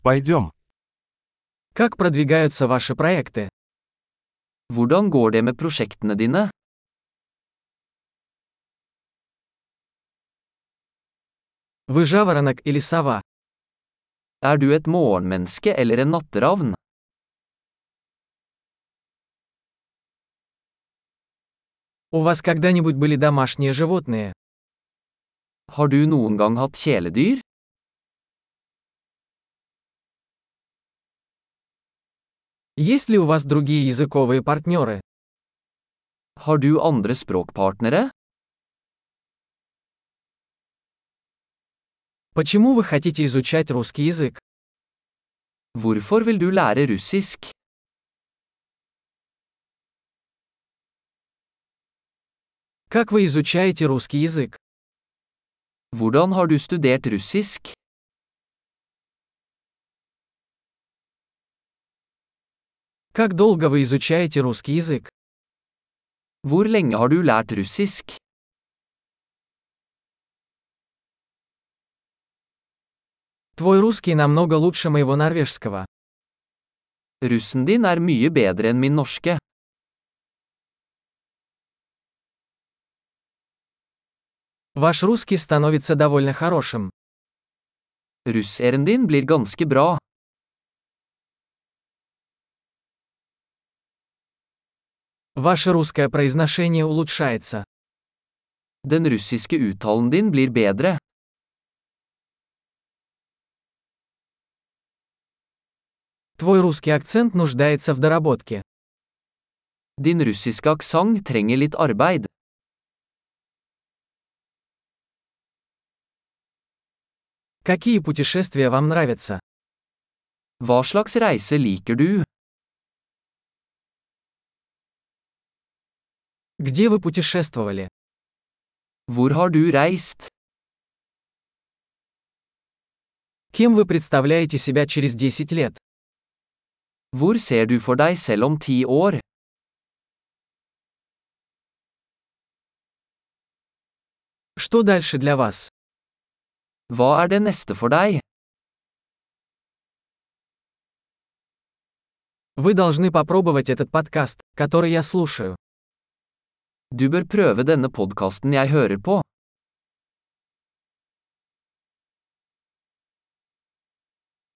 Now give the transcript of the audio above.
Пойдем. Как продвигаются ваши проекты? Hvordan går det med prosjektene dine? Вы жаворонок или сова? Er du et morgenmenneske eller en natteravn? У вас когда-нибудь были домашние животные? Har du noen gang hatt kjæledyr? Есть ли у вас другие языковые партнеры? Har du andre språkpartnere? Почему вы хотите изучать русский язык? Hvorfor vil du lære russisk? Как вы изучаете русский язык? Hvordan har du studert russisk? Как долго вы изучаете русский язык? Hvor lenge har du lært russisk? Твой русский намного лучше моего норвежского. Russen din er mye bedre enn min norske. Ваш русский становится довольно хорошим. Russeren din blir ganske bra. Ваше русское произношение улучшается. Den russiske uttalen din blir bedre. Твой русский акцент нуждается в доработке. Din russiske aksent trenger litt arbeid. Какие путешествия вам нравятся? Hva slags reise liker du? Где вы путешествовали? Hvor har du reist? Кем вы представляете себя через 10 лет? Hvor ser du for deg selv om 10 år? Что дальше для вас? Hva er det neste for deg? Вы должны попробовать этот подкаст, который я слушаю. Du bør prøve denne podkasten jeg hører på.